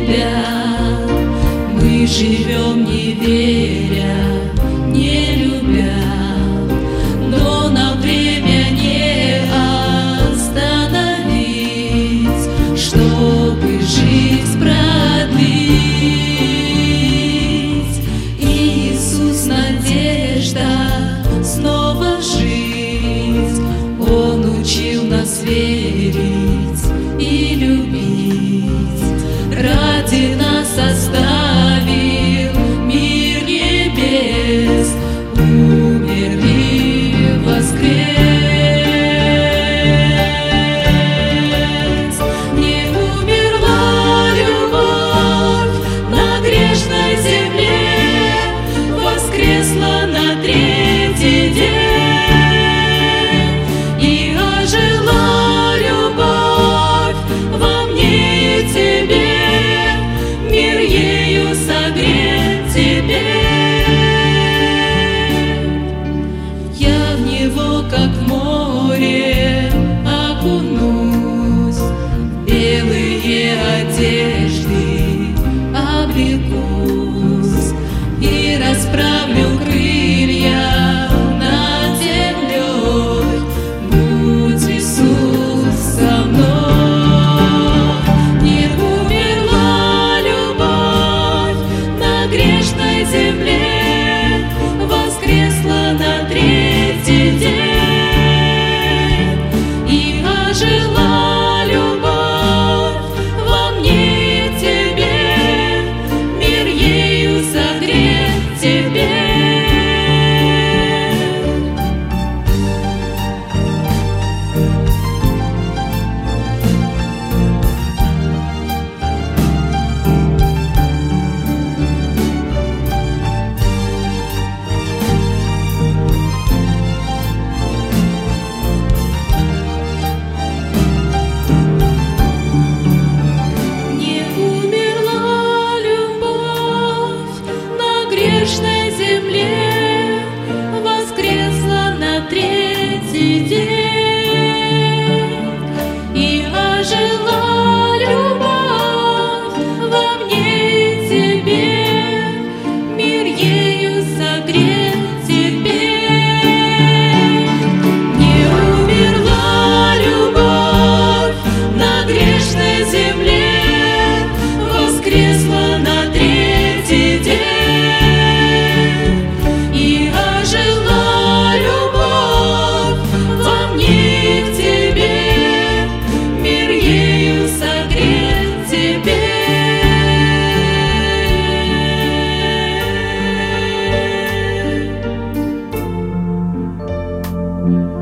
тебя. Мы живем, не веря, не любя, но на время не остановить, чтобы жизнь продлить. Иисус, надежда, снова жить. Он учил нас верить и любить. Ради нас оставил мир небес, умер и воскрес. Не умерла любовь на грешной земле, воскресла на третий день. И ожила любовь во мне и тебе, мир ею согрет теперь. Я в него, как в море, окунусь, в белые одежды облекусь и расправлю крылья над землей. Будь, Иисус, со мной. Не умерла любовь на грешной земле, воскресла на третий день. И ожила любовь во мне и тебе, мир ею согрет теперь. Не умерла любовь на грешной земле, воскресла на третий день. И ожила любовь во мне и тебе, мир ею согрет теперь. Не умерла любовь на грешной земле, воскресла на третий день. И ожила любовь во мне и в тебе, мир ею согрет теперь.